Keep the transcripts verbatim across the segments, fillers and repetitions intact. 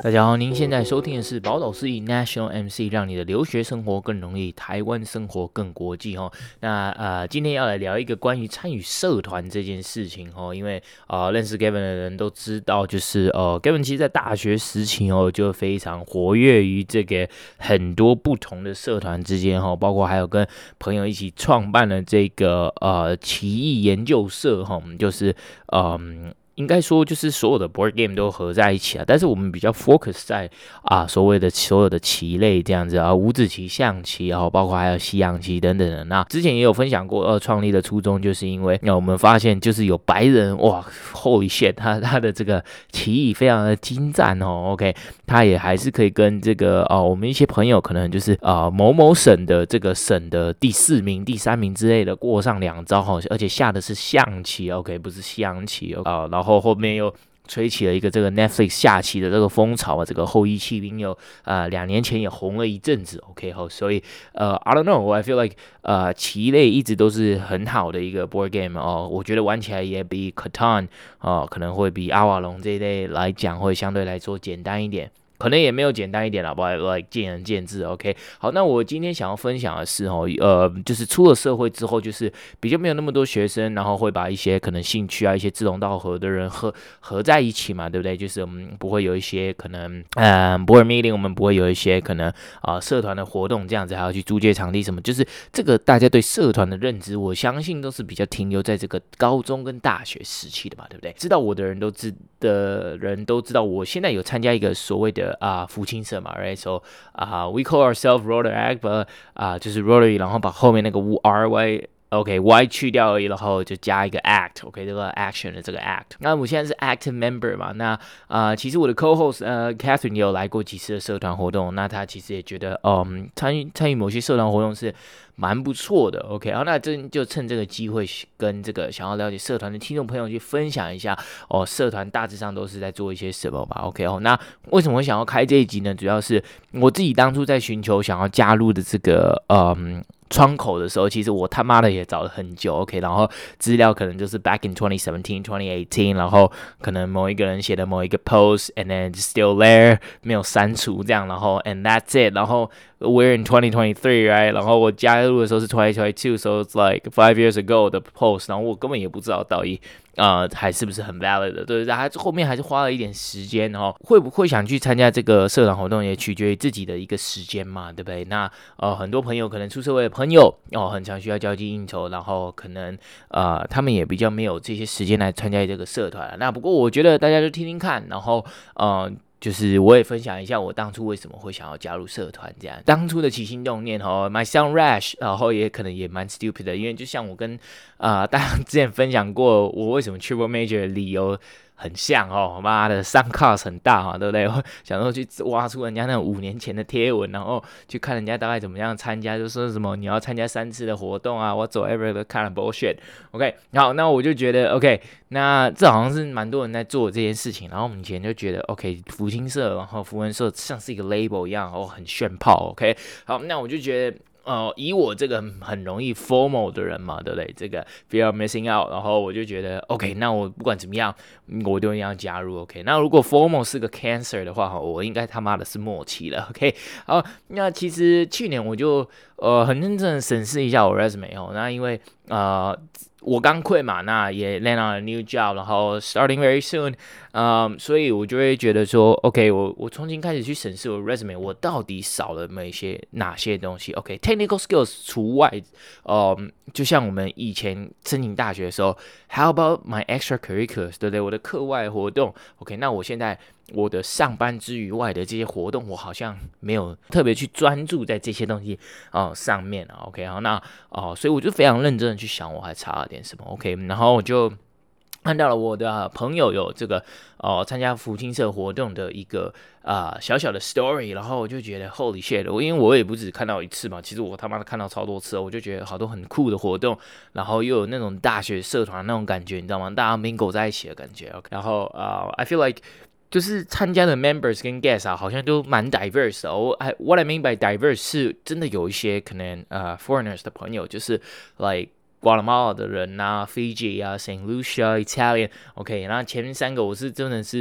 大家好，您現在收聽的是寶島司儀 National M C， 讓你的留學生活更容易，台灣生活更國際哦。那呃，今天要來聊一個關於參與社團這件事情哦，因為呃，認識 Gavin 的人都知道，就是呃，Gavin 其實在大學時期哦，就非常活躍於這個很多不同的社團之間哦，包括還有跟朋友一起創辦了這個呃奇異研究社哈，就是嗯。呃應該說，就是所有的 board game 都合在一起啊，但是我們比較 focus 在啊所謂的所有的棋類這樣子啊，五子棋、象棋，然後包括還有西洋棋等等的。那之前也有分享過，呃，創立的初衷就是因為，那我們發現就是有白人哇 ，Holy shit，他他的這個棋藝非常的精湛哦 ，OK， 他也還是可以跟這個啊我們一些朋友可能就是啊某某省的這個省的第四名、第三名之類的過上兩招哈，而且下的是象棋 ，OK， 不是西洋棋啊，然後。後後面又吹起了一個這個 Netflix 下棋的這個風潮啊，這個後翼棄兵又呃兩年前也紅了一陣子 ，OK 後，所以呃 I don't know，I feel like 呃棋類一直都是很好的一個 board game 哦，我覺得玩起來也比 Catan 哦可能會比阿瓦隆這一類來講會相對來說簡單一點。可能也沒有簡單一點啦，不，like 見仁見智。OK， 好，那我今天想要分享的是哦，呃，就是出了社會之後，就是比較沒有那麼多學生，然後會把一些可能興趣啊、一些志同道合的人合合在一起嘛，對不對？就是我們不會有一些可能，嗯 board meeting， 我們不會有一些可能啊、呃、社團的活動這樣子，還要去租借場地什麼，就是這個大家對社團的認知，我相信都是比較停留在這個高中跟大學時期的嘛，對不對？知道我的人都知的人都知道，我現在有參加一個所謂的啊，福清社嘛 ，right？So 啊、uh, ，we call ourselves Rotaract，but 啊、uh, 就是 Rotary， 然後把後面那個 R Y，OK Y 去掉而已，然後就加一個 Act，OK 這個 action 的這個 Act。那我現在是 active member 嘛，那啊、呃，其實我的 co-host 呃 Catherine 也有來過幾次的社團活動，那她其實也覺得，嗯，參與參與某些社團活動是蠻不錯的 ，OK， 好，那這就趁這個機會跟這個想要了解社團的聽眾朋友去分享一下哦，社團大致上都是在做一些什麼吧 ，OK 哦，那為什麼我想要開這一集呢？主要是我自己當初在尋求想要加入的這個嗯窗口的時候，其實我他媽的也找了很久 ，OK， 然後資料可能就是 back in twenty seventeen, twenty eighteen， 然後可能某一個人寫的某一個 post，and then still there 沒有刪除這樣，然後 and that's it， 然後 we're in twenty twenty-three right， 然後我加入的時候是twenty twenty-two，so it's like five years ago 的 post， 然後我根本也不知道到底呃還是不是很 valid 的，對，還後面還是花了一點時間哦，會不會想去參加這個社團活動也取決於自己的一個時間嘛，對不對？那呃很多朋友可能出社會的朋友哦，很常需要交際應酬，然後可能呃他們也比較沒有這些時間來參加這個社團。那不過我覺得大家就聽聽看，然後呃。就是我也分享一下我當初為什麼會想要加入社團，這樣當初的起心動念哦 ，my sound rash， 然後也可能也蠻 stupid 的，因為就像我跟啊、呃、大家之前分享過，我為什麼 triple major 的理由很像哦，媽的上 cost 很大嘛，對不對？我想說去挖出人家那種五年前的貼文，然後去看人家大概怎麼樣參加，就說什麼你要參加三次的活動啊，whatsoever 的 kind of bullshit。OK， 好，那我就覺得 OK， 那這好像是蠻多人在做這件事情，然後我們以前就覺得 OK， 福清社，然後福文社像是一個 label 一樣，哦，很炫炮。OK， 好，那我就覺得。呃，以我這個很容易 formal 的人嘛，對不對？這個 fear of missing out， 然後我就覺得 OK， 那我不管怎麼樣，我都一定要加入 OK。那如果 formal 是個 cancer 的話，我應該他媽的是末期了 OK。好，那其實去年我就呃很認真的審視一下我 resume 哦，那因為呃。我剛 quit 嘛，那也 land on a new job， 然後 starting very soon， 嗯，所以我就會覺得說 ，OK， 我我重新開始去審視我的 resume， 我到底少了哪些哪些東西 ？OK，technical skills 除外，嗯，就像我們以前申請大學的時候 ，How about my extracurriculars， 對不對？我的課外活動 ，OK， 那我現在。我的上班之餘外的這些活動，我好像沒有特別去專注在這些東西哦、呃、上面啊。OK， 好，那哦、呃，所以我就非常認真的去想，我還差了點什麼。OK， 然後我就看到了我的朋友有這個哦參加福清社活動的一個啊、呃、小小的 story， 然後我就覺得 Holy shit， 我因為我也不只看到一次嘛，其實我他媽的看到超多次，我就覺得好多很酷的活動，然後又有那種大學社團那種感覺，你知道嗎？大家 mingle 在一起的感覺。OK， 然後啊、呃、，I feel like。就是參加的 members 跟 guests 啊，好像都蠻 diverse 的。我 I what I mean by diverse 是真的有一些可能呃、uh, foreigners 的朋友，就是 like Guatemala 的人啊 ，Fiji 啊 ，Saint Lucia Italian，OK，、okay, 然後前面三個我是真的是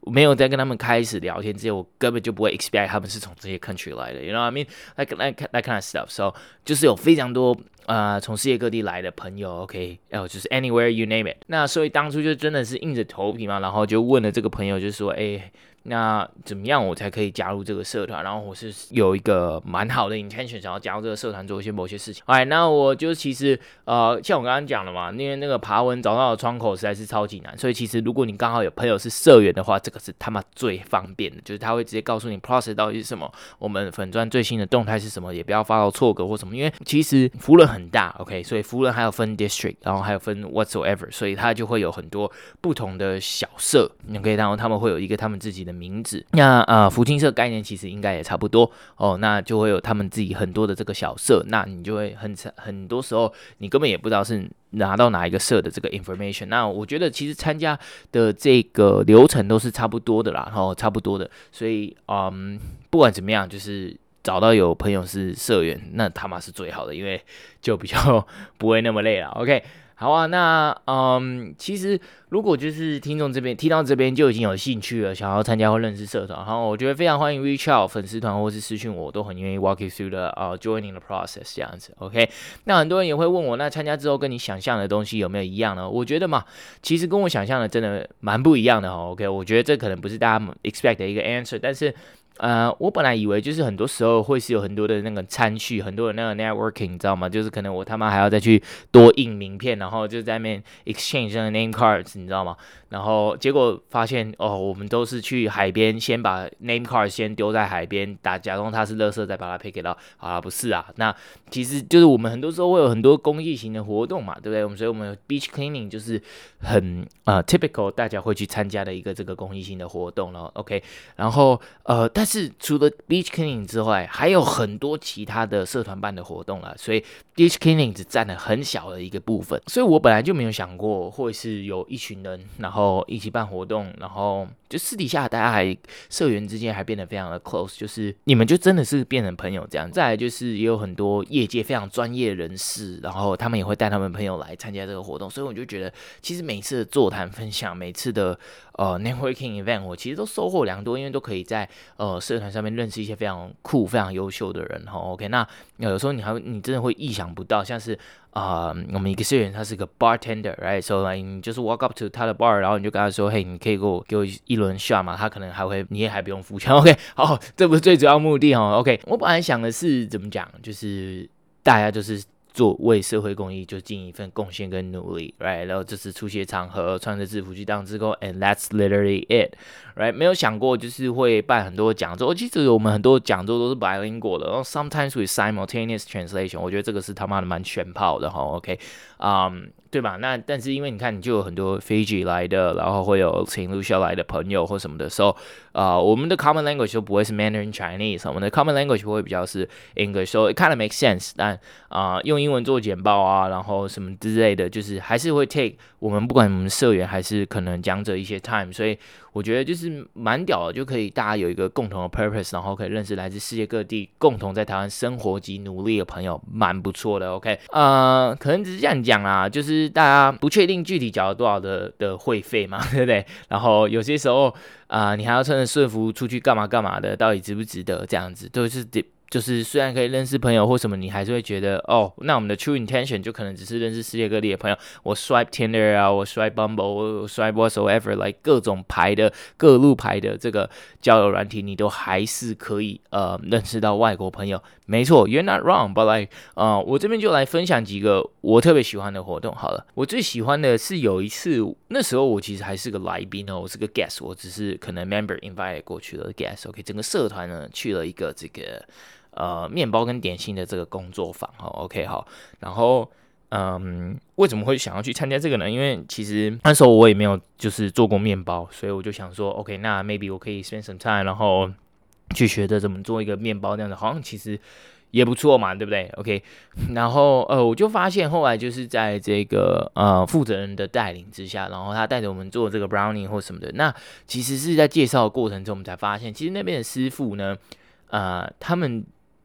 沒有在跟他們開始聊天之前，我根本就不會 expect 他們是從這些 country 來的 ，you know what I mean? Like like that kind of stuff. So 就是有非常多呃從世界各地來的朋友 ，OK， 哦，就是 anywhere you name it。那所以當初就真的是硬着頭皮嘛，然後就問了這個朋友，就說，哎。那怎麼樣我才可以加入這個社團？然後我是有一個蠻好的 intention， 想要加入這個社團做一些某些事情。哎，那我就其實呃，像我剛剛講的嘛，因為那個爬文找到的窗口實在是超級難，所以其實如果你剛好有朋友是社員的話，這個是他媽最方便的，就是他會直接告訴你 process 到底是什麼，我們粉專最新的動態是什麼，也不要發到錯格或什麼，因為其實福仁很大 ，OK， 所以福仁還有分 district， 然後還有分 whatsoever， 所以它就會有很多不同的小社 ，OK， 然後他們會有一個他們自己的名字，那呃，福清社概念其實應該也差不多哦，那就會有他們自己很多的這個小社，那你就會很很多時候你根本也不知道是拿到哪一個社的這個 information。那我覺得其實參加的這個流程都是差不多的啦，然後差不多的，所以嗯，不管怎麼樣，就是找到有朋友是社員，那他媽是最好的，因為就比較不會那麼累了。OK。好啊，那嗯，其實如果就是聽眾這邊聽到這邊就已經有興趣了，想要參加或認識社團，然後我覺得非常歡迎 reach out 粉絲團或是私訊我，我都很願意 walk you through the 呃、uh, joining the process 這樣子 ，OK。那很多人也會問我，那參加之後跟你想象的東西有沒有一樣呢？我覺得嘛，其實跟我想象的真的蠻不一樣的哦 ，OK。我覺得這可能不是大家 expect 的一個 answer， 但是。呃，我本來以為就是很多時候會是有很多的那個參序，很多的那個 networking， 你知道嗎？就是可能我他媽還要再去多印名片，然後就在那邊 exchange 那個 name cards， 你知道嗎？然後結果發現哦，我們都是去海邊，先把 name card 先丟在海邊，打假裝它是垃圾，再把它 pick it up。好啦，不是啊，那其實就是我們很多時候會有很多公益型的活動嘛，對不對？我們所以我們有 beach cleaning 就是很呃 typical 大家會去參加的一個這個公益性的活動了 ，OK。然後呃，但是除了 beach cleaning 之外，還有很多其他的社團辦的活動啦，所以 beach cleaning 只佔了很小的一個部分。所以我本來就沒有想過會是有一群人，然後一起辦活動，然後就私底下大家還社員之間還變得非常的 close， 就是你們就真的是變成朋友這樣。再來就是也有很多業界非常專業人士，然後他們也會帶他們朋友來參加這個活動，所以我就覺得其實每次的座談分享，每次的呃 networking event， 我其實都收穫良多，因為都可以在呃社團上面認識一些非常酷、非常優秀的人哈。OK， 那有時候你還你真的會意想不到，像是啊、呃，我們一個社員他是個 bartender，right？So like, 你就是 walk up to 他的 bar， 然後你就跟他說，嘿，你可以給我給我一輪 shot 嘛？他可能還會，你也還不用付錢。OK， 好，這不是最主要目的哦。OK， 我本來想的是怎麼講，就是大家就是。做為社會公益就盡一份貢獻跟努力 ，right？ 然後這次出席場合穿着制服去當志工 ，and that's literally it，right？ 沒有想過就是會辦很多講座，其實我們很多講座都是 bilingual 的，然後 sometimes with simultaneous translation， 我覺得這個是他媽的蠻炫炮的哈 ，OK， 嗯、um,，對吧？那但是因為你看，你就有很多 Fiji 來的，然後會有 Saint Lucia 來的朋友或什麼的時候，啊、呃，我們的 common language 就不會是 Mandarin Chinese， 我們的 common language 會比較是 English，so it kind of makes sense， 但啊、呃，用英文做簡報啊，然後什麼之類的，就是還是會 take 我們不管我們社員還是可能講者一些 time， 所以我覺得就是蠻屌的，就可以大家有一個共同的 purpose， 然後可以認識來自世界各地共同在台灣生活及努力的朋友，蠻不錯的。OK， 呃，可能只是這樣講啦，就是大家不確定具體繳了多少的的會費嘛，對不對？然後有些時候啊、呃，你還要穿着順服出去幹嘛幹嘛的，到底值不值得？這樣子都是。就是雖然可以認識朋友或什麼，你還是會覺得哦，那我們的 true intention 就可能只是認識世界各地的朋友。我 swipe Tinder 啊，我 swipe Bumble， 我 swipe whatsoever， like 各種牌的各路牌的這個交友軟體，你都還是可以呃認識到外國朋友。沒錯 ，you're not wrong，but like 呃，我這邊就來分享幾個我特別喜歡的活動好了。我最喜歡的是有一次，那時候我其實還是個來賓哦，我是個 guest， 我只是可能 member invite 過去的 guest。OK， 整個社團呢去了一個這個。呃，麵包跟點心的這個工作坊哈 ，OK 好，然後嗯，為什麼會想要去參加這個呢？因為其實那時候我也沒有就是做過麵包，所以我就想說 ，OK， 那 maybe 我可以 spend some time， 然後去學着怎麼做一個麵包，這樣子好像其實也不錯嘛，對不對 ？OK， 然後呃，我就發現後來就是在這個呃負責人的帶領之下，然後他帶着我們做這個 brownie 或什麼的，那其實是在介紹的過程中，我們才發現，其實那邊的師傅呢，呃，他們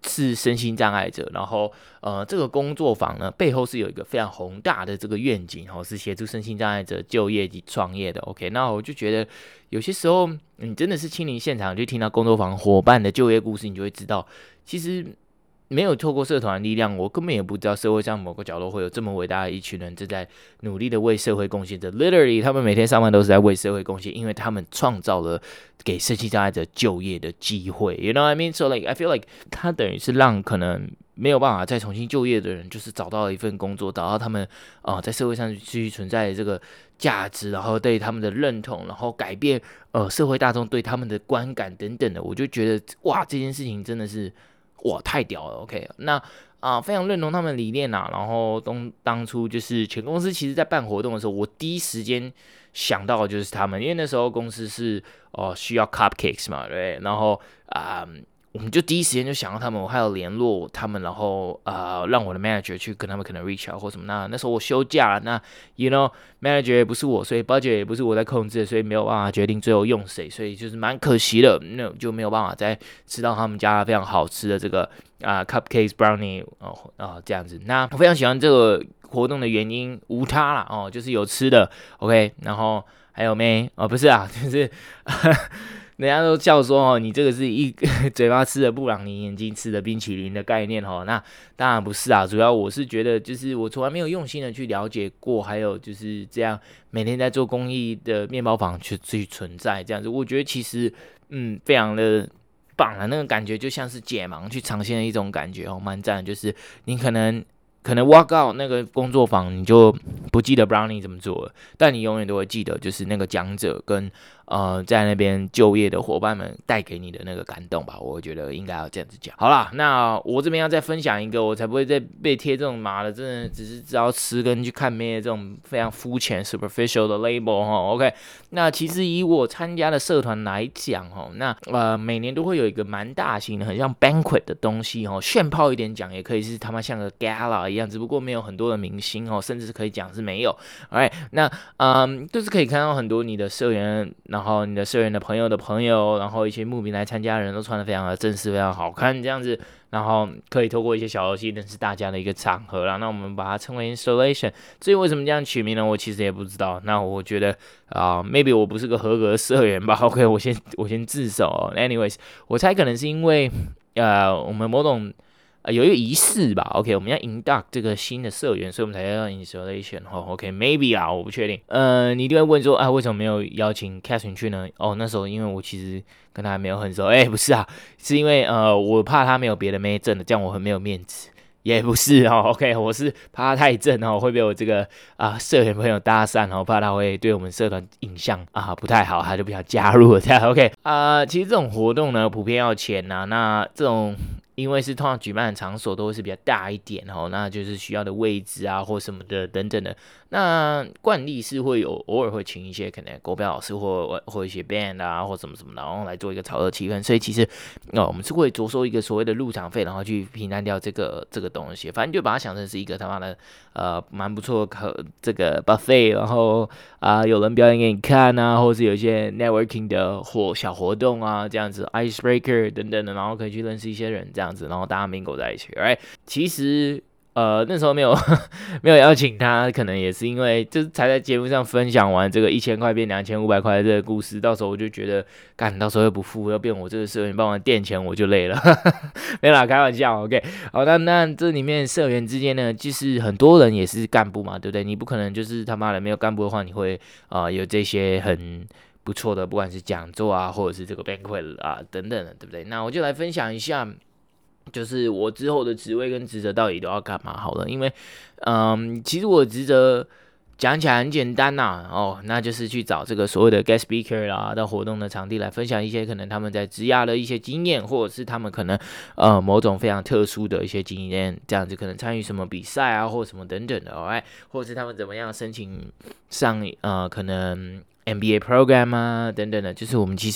是身心障礙者，然後呃，這個工作坊呢背後是有一個非常宏大的這個願景，哦，是協助身心障礙者就業及創業的。OK，那我就覺得有些時候你真的是親臨現場，就聽到工作坊夥伴的就業故事，你就會知道，其實沒有透過社團的力量，我根本也不知道社會上某個角落會有這麼偉大的一群人正在努力的為社會貢獻着。Literally， 他們每天上班都是在為社會貢獻，因為他們創造了給身心障礙者就業的機會。You know what I mean? So like I feel like 他等於是讓可能沒有辦法再重新就業的人，就是找到了一份工作，找到他們啊、呃、在社會上繼續存在的這個價值，然後對他們的認同，然後改變呃社會大眾對他們的觀感等等的。我就覺得哇，這件事情真的是。哇，太屌了 ！OK， 那啊、呃，非常認同他們理念吶、啊。然後當當初就是前公司其實在辦活動的時候，我第一時間想到的就是他們，因為那時候公司是哦、呃、需要 cupcakes 嘛，對，然後啊。呃我們就第一時間就想到他們，我還有聯絡他們，然後呃讓我的 manager 去跟他們可能 reach out 或什麼。那那時候我休假了，那 you know manager 也不是我，所以 budget 也不是我在控制，所以沒有辦法決定最後用誰，所以就是蠻可惜的，那就沒有辦法再吃到他們家非常好吃的這個啊、呃、cupcakes brownie 哦啊、呃、這樣子。那我非常喜歡這個活動的原因無他啦哦，就是有吃的 OK， 然後還有妹哦不是啊，就是。人家都笑說哦，你這個是一嘴巴吃的布朗尼，眼睛吃的冰淇淋的概念哦。那當然不是啊，主要我是覺得，就是我從來沒有用心的去了解過，還有就是這樣每天在做公益的麵包房去去存在這樣子，我覺得其實嗯非常的棒啊，那個感覺就像是解盲去嘗鮮的一種感覺哦，蠻讚的。就是你可能。可能 walk out 那個工作坊，你就不記得 brownie 怎麼做了，但你永遠都會記得，就是那個講者跟呃在那邊就業的夥伴們帶給你的那個感動吧。我覺得應該要這樣子講。好啦，那我這邊要再分享一個，我才不會再被貼這種媽的，真的只是知道吃跟去看妹的這種非常膚淺 superficial 的 label 哈。OK， 那其實以我參加的社團來講哈，那呃每年都會有一個蠻大型的，很像 banquet 的東西哈，炫炮一點講也可以是他媽像個 gala 一樣。只不過沒有很多的明星哦，甚至可以講是沒有。Alright， 那嗯，就是可以看到很多你的社員，然後你的社員的朋友的朋友，然後一些慕名來參加的人都穿得非常的正式，非常好看這樣子。然後可以透過一些小遊戲認識大家的一個場合啦。那我們把它稱為 installation。至於為什麼這樣取名呢？我其實也不知道。那我覺得啊、呃、，maybe 我不是個合格的社員吧。OK， 我先我先自首、哦。Anyways， 我猜可能是因為呃，我們某種。呃、有一個儀式吧 ，OK， 我們要 induct 這個新的社員，所以我們才要 installation 哈、哦、，OK，maybe、okay, 啊，我不確定。呃，你一定會問說，啊，為什麼沒有邀請 Catherine 去呢？哦，那時候因為我其實跟他還沒有很熟，哎，不是啊，是因為呃，我怕他沒有別的妹正的，這樣我很沒有面子。也不是哦 ，OK， 我是怕他太正哦，會被我這個啊、呃、社員朋友搭訕哦，怕他會對我們社團印象啊不太好，他就不想加入了這樣 OK 啊、呃。其實這種活動呢，普遍要錢吶、啊，那這種。因為是通常舉辦的場所都會是比較大一點哦，那就是需要的位置啊或什麼的等等的。那慣例是會有偶爾會請一些可能國標老師或或一些 band 啊或什麼什麼的，然後來做一個炒熱氣氛。所以其實哦，我們是會着收一個所謂的入場費，然後去平攤掉這個這個東西。反正就把它想成是一個他媽的呃蠻不錯的可這個 buffet，然後啊、呃、有人表演給你看啊，或是有一些 networking 的活小活動啊這樣子 icebreaker 等等的，然後可以去認識一些人這樣。然後大家 mingle 在一起 ，right？ 其實呃那時候沒有沒有邀請他，可能也是因為就是才在節目上分享完這個一千塊變兩千五百塊的這個故事，到時候我就覺得幹到時候又不付，要變我這個社員幫我墊錢，我就累了，沒啦，開玩笑 ，OK。好，那那這裡面社員之間呢，就是很多人也是幹部嘛，對不對？你不可能就是他媽的沒有幹部的話，你會啊、呃、有這些很不錯的，不管是講座啊，或者是這個 banquet 啊等等的，對不對？那我就來分享一下。就是我之後的職位跟職責到底都要幹嘛好了，因為，嗯，其實我的職責講起來很簡單吶、啊，哦，那就是去找這個所謂的 guest speaker 啦，到活動的場地來分享一些可能他們在職涯的一些經驗，或者是他們可能呃某種非常特殊的一些經驗，這樣子可能參與什麼比賽啊，或者什麼等等的，哎，或者是他們怎麼樣申請上呃可能。M B A program 啊，等等的，就是我們其實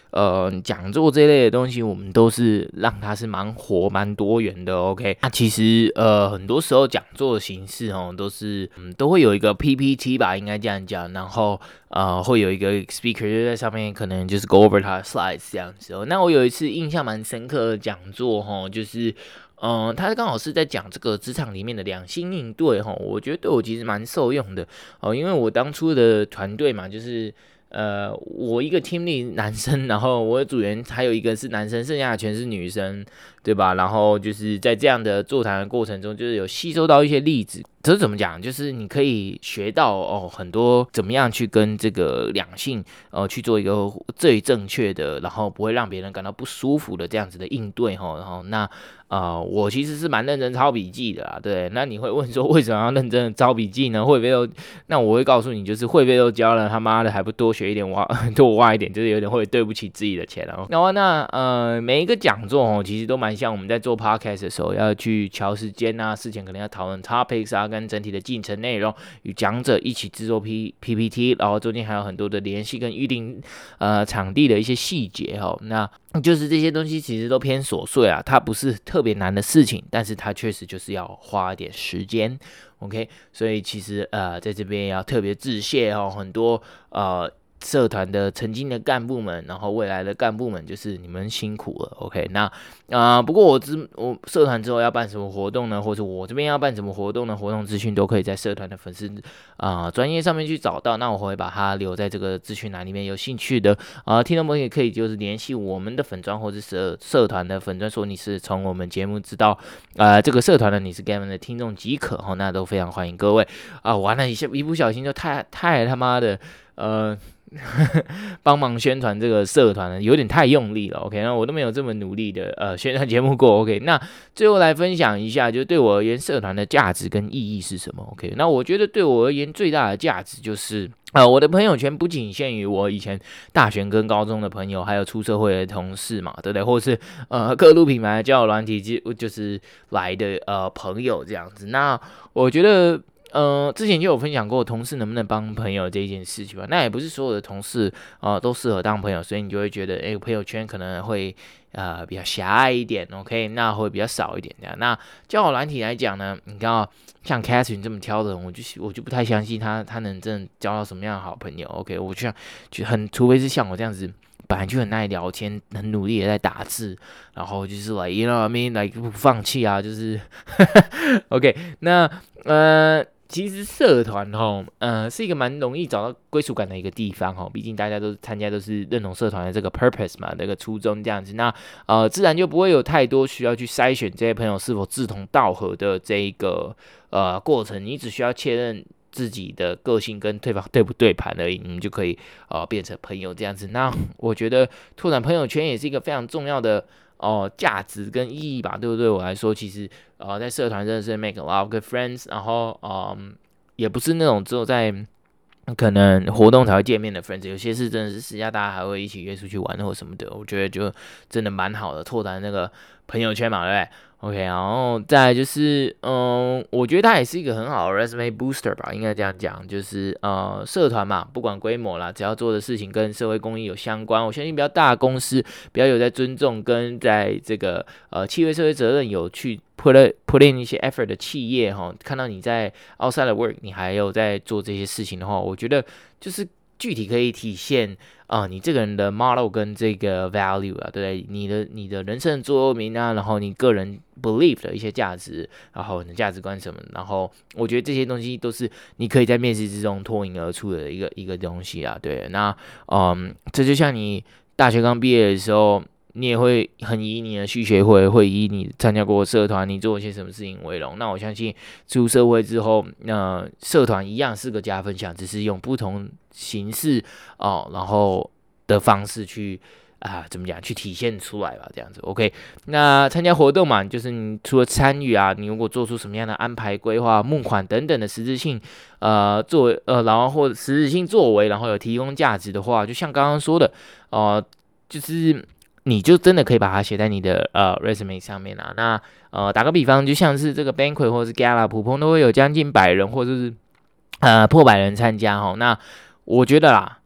呃講座這類的東西，我們都是讓它是蠻活蠻多元的。OK，那其實呃很多時候講座的形式哦，都是嗯都會有一個 P P T 吧，應該這樣講，然後呃會有一個 speaker 就在上面，可能就是 go over 他的 slides 這樣子哦。那我有一次印象蠻深刻的講座哈，就是。嗯，他剛好是在講這個職場裡面的兩性應對哈，我覺得對我其實蠻受用的哦，因為我當初的團隊嘛，就是呃，我一個 team lead 男生，然後我的組員還有一個是男生，剩下的全是女生，對吧？然後就是在這樣的座談的過程中，就是有吸收到一些例子。這是怎麼講？就是你可以學到哦很多怎麼樣去跟這個兩性呃去做一個最正確的，然後不會讓別人感到不舒服的這樣子的應對哈。然後那呃我其實是蠻認真抄筆記的啦，對。那你會問說為什麼要認真的抄筆記呢？會不會都？那我會告訴你，就是會不會都教了，他媽的還不多學一點挖多挖一點，就是有點會對不起自己的錢哦。然後那呃每一個講座哦，其實都蠻像我們在做 podcast 的時候要去喬時間啊，事前可能要討論 topics 啊。跟整體的進程內容，與講者一起製作 P P P T， 然後中間還有很多的聯繫跟預定呃場地的一些細節哈，那就是這些東西其實都偏瑣碎啊，它不是特別難的事情，但是它確實就是要花一點時間 ，OK， 所以其實呃在這邊要特別致謝哦，很多呃。社團的曾經的幹部們，然後未來的幹部們，就是你們辛苦了 ，OK？ 那啊、呃，不過我之我社團之後要辦什麼活動呢？或者我這邊要辦什麼活動呢？活動資訊都可以在社團的粉絲啊專頁上面去找到。那我會把它留在這個資訊欄裡面，有興趣的啊、呃、聽眾朋友也可以就是聯繫我們的粉專或者社社團的粉專，說你是從我們節目知道啊、呃、這個社團的你是 Gavin 的聽眾即可哈，那都非常歡迎各位啊、呃。完了一下一不小心就太太他媽的呃。幫忙宣傳這個社團呢，有點太用力了。OK，那我都沒有這麼努力的呃宣傳節目過。OK，那最後來分享一下，就對我而言，社團的價值跟意義是什麼 ？OK，那我覺得對我而言最大的價值就是呃我的朋友圈不僅限於我以前大學跟高中的朋友，還有出社會的同事嘛，對不對？或是呃各路品牌的交友軟體就就是來的呃朋友這樣子。那我覺得。呃，之前就有分享過同事能不能幫朋友這一件事情吧。那也不是所有的同事啊、呃、都適合當朋友，所以你就會覺得，哎、欸，朋友圈可能會呃比較狹隘一點 ，OK， 那會比較少一點這樣。那交友軟體來講呢，你看啊，像 Catherine 這麼挑的人，我就我就不太相信他他能真的交到什麼樣的好朋友 ，OK， 我就像就很，除非是像我這樣子。本來就很愛聊天，很努力的在打字，然後就是 like you know what I mean like 不放棄啊，就是 OK。那呃，其實社團齁，呃，是一個蠻容易找到歸屬感的一個地方齁，畢竟大家都參加都是認同社團的這個 purpose 嘛，這個初衷這樣子，那呃，自然就不會有太多需要去篩選這些朋友是否志同道合的這一個呃過程，你只需要確認自己的個性跟對方對不對盤而已，你們就可以呃變成朋友這樣子。那我覺得拓展朋友圈也是一個非常重要的哦價值跟意義吧，對不對？我來說，其實呃在社團真的是 make a lot of good friends， 然後嗯、呃、也不是那種只有在可能活動才會見面的 friends， 有些是真的是私下大家還會一起約出去玩或什麼的，我覺得就真的蠻好的，拓展那個朋友圈嘛，對不對？OK， 然後再來就是，嗯，我覺得它也是一個很好的 resume booster 吧，應該這樣講，就是呃，社團嘛，不管規模啦，只要做的事情跟社會公益有相關，我相信比較大的公司，比較有在尊重跟在這個呃企業社會責任有去 put put in 一些 effort 的企業哈，看到你在 outside of work， 你還有在做這些事情的話，我覺得就是具體可以體現。啊、呃，你這個人的 model 跟這個 value 啊，對，你的你的人生的座右銘啊，然後你個人 believe 的一些價值，然後你的價值觀什麼，然後我覺得這些東西都是你可以在面試之中脫穎而出的一個一個東西啊，對，那嗯，這就像你大學剛畢業的時候，你也會很以你的系學會，會以你參加過社團，你做一些什麼事情為榮。那我相信出社會之後，那、呃、社團一樣是個加分項，只是用不同形式哦，然後的方式去啊，怎麼講，去體現出來吧，這樣子 OK。那參加活動嘛，就是你除了參與啊，你如果做出什麼樣的安排、規劃、募款等等的實質性呃作為呃，然後或者實質性作為，然後有提供價值的話，就像剛剛說的呃，就是你就真的可以把它寫在你的呃 resume 上面啊。那呃，打個比方，就像是這個 banquet 或者是 gala， 普通都會有將近百人或者是呃破百人參加哈。那我覺得啦，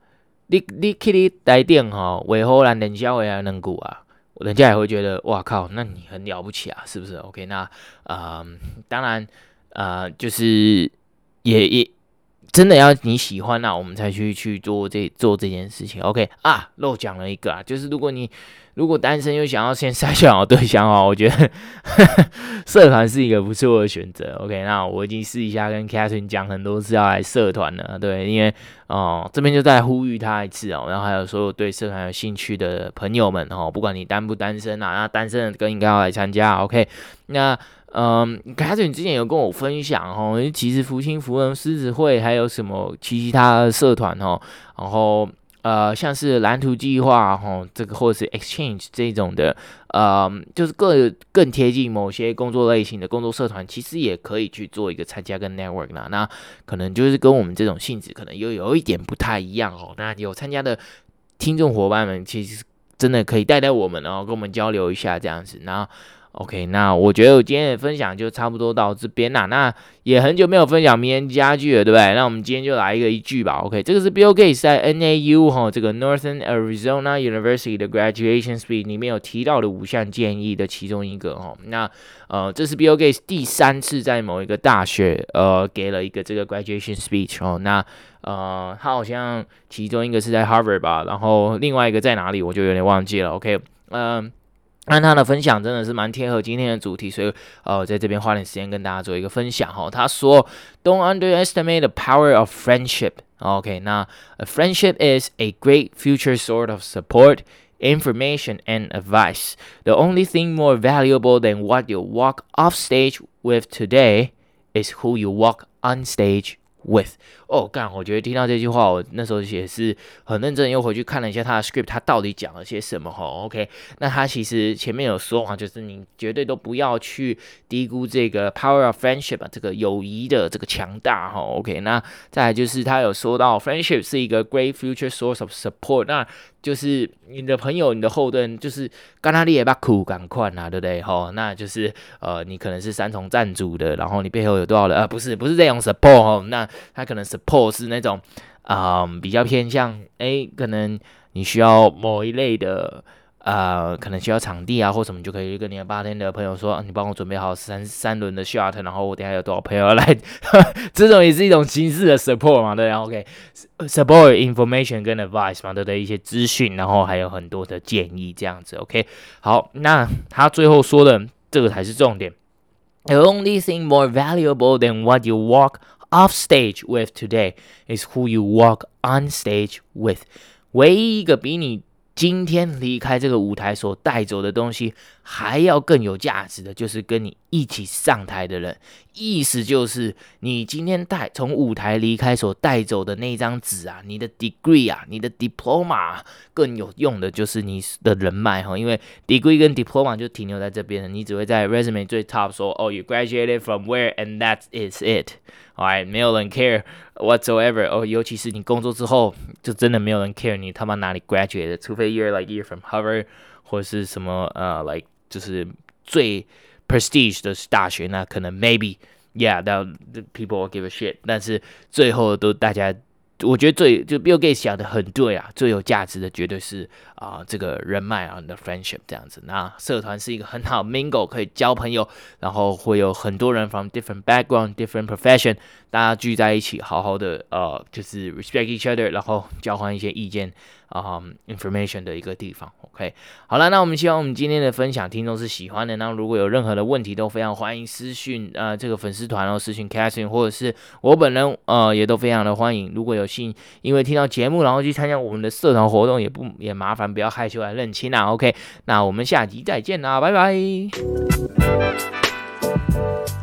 你你去你台頂吼，為何咱練小話兩句啊？人家也會覺得哇靠，那你很了不起啊，是不是 ？OK， 那呃，當然呃，就是也也真的要你喜歡那、啊、我們才去去做這做這件事情。OK 啊，漏講了一個啊，就是如果你如果單身又想要先篩選好對象哦，我覺得呵呵社團是一個不錯的選擇。OK， 那我已經私底下跟 Catherine 講很多次要來社團了，對，因為哦、呃、這邊就再呼籲他一次哦，然後還有所有對社團有興趣的朋友們哦，不管你單不單身啊，那單身的更應該要來參加。OK， 那嗯 Catherine 之前有跟我分享哦，其實福星福人獅子會還有什麼其他的社團哦，然後。呃，像是藍圖計劃哈，這個或者是 exchange 這種的，呃，就是更更貼近某些工作類型的工作社團，其實也可以去做一個參加跟 network 啦。那可能就是跟我們這種性質可能又有一點不太一樣哦。那有參加的聽眾夥伴們，其實真的可以帶帶我們，然後跟我們交流一下這樣子。然後 OK， 那我覺得我今天的分享就差不多到這邊啦。那也很久沒有分享名人佳句了，對不對？那我們今天就來一個一句吧。OK， 這個是 Bill Gates 在 N A U 哈這個 Northern Arizona University 的 Graduation Speech 裡面有提到的五項建議的其中一個哈。那呃，這是 Bill Gates 第三次在某一個大學呃給了一個這個 Graduation Speech 哦。那呃，他好像其中一個是在 Harvard 吧，然後另外一個在哪裡我就有點忘記了。OK， 嗯、呃。那他的分享真的是蠻貼合今天的主題，所以呃，在這邊花點時間跟大家做一個分享哈。他說 ，Don't underestimate the power of friendship. OK， 那 a friendship is a great future source of support, information, and advice. The only thing more valuable than what you walk off stage with today is who you walk on stage with. 哦，幹！我覺得聽到這句話，我那時候也是很認真，又回去看了一下他的 script，他到底講了些什麼哈 ？OK， 那他其實前面有說啊，就是你絕對都不要去低估這個 power of friendship 啊，這個友誼的這個強大哈。OK， 那再來就是他有說到 friendship 是一個 great future source of support， 那就是你的朋友、你的後盾，就是跟他你也把苦趕快啊，對不對？哈，那就是呃，你可能是三重贊助的，然後你背後有多少人？呃，不是，不是這種 support 哈，那他可能 support 是那種啊、呃，比較偏向哎，可能你需要某一類的呃，可能需要場地啊或什麼，就可以跟你的bartender的朋友說，啊、你幫我準備好三三輪的 shot， 然後我等一下有多少朋友來，這種也是一種形式的 support 嘛，對，然後 OK，support information 跟 advice 嘛，對不對？一些資訊，然後還有很多的建議這樣子 ，OK， 好，那他最後說的這個才是重點。The only thing more valuable than what you walk off stage with today is who you walk on stage with. 唯一一個比你今天離開這個舞台所帶走的東西還要更有價值的，就是跟你一起上台的人。意思就是你今天帶從舞台離開所帶走的那張紙啊，你的 degree 啊，你的 diploma 啊，更有用的就是你的人脈哈，因為 degree 跟 diploma 就停留在這邊了，你只會在 resume 最 top 說哦 you graduated from where and that is it. Alright， 沒有人 care whatsoever。哦，尤其是你工作之後，就真的沒有人 care 你他媽哪裡 graduated， 除非 you're like you're from Harvard 或是什麼呃 like 就是最 prestige 的大學，那可能 maybe yeah that people will give a shit， 但是最後都大家，我覺得最就 Bill Gates 講的很對啊，最有價值的絕對是啊、呃、這個人脈啊，你的 friendship 這樣子。那社團是一個很好 mingle， 可以交朋友，然後會有很多人 from different background、different profession， 大家聚在一起，好好的呃就是 respect each other， 然後交換一些意見啊、um, information 的一個地方。OK， 好了，那我們希望我們今天的分享聽眾是喜歡的。那如果有任何的問題，都非常歡迎私訊呃這個粉絲團，然後私訊 Catherine 或者是我本人呃也都非常的歡迎。如果有幸因為聽到節目然後去參加我們的社團活動，也不也麻煩不要害羞來認親啦。OK， 那我們下集再見啦，拜拜。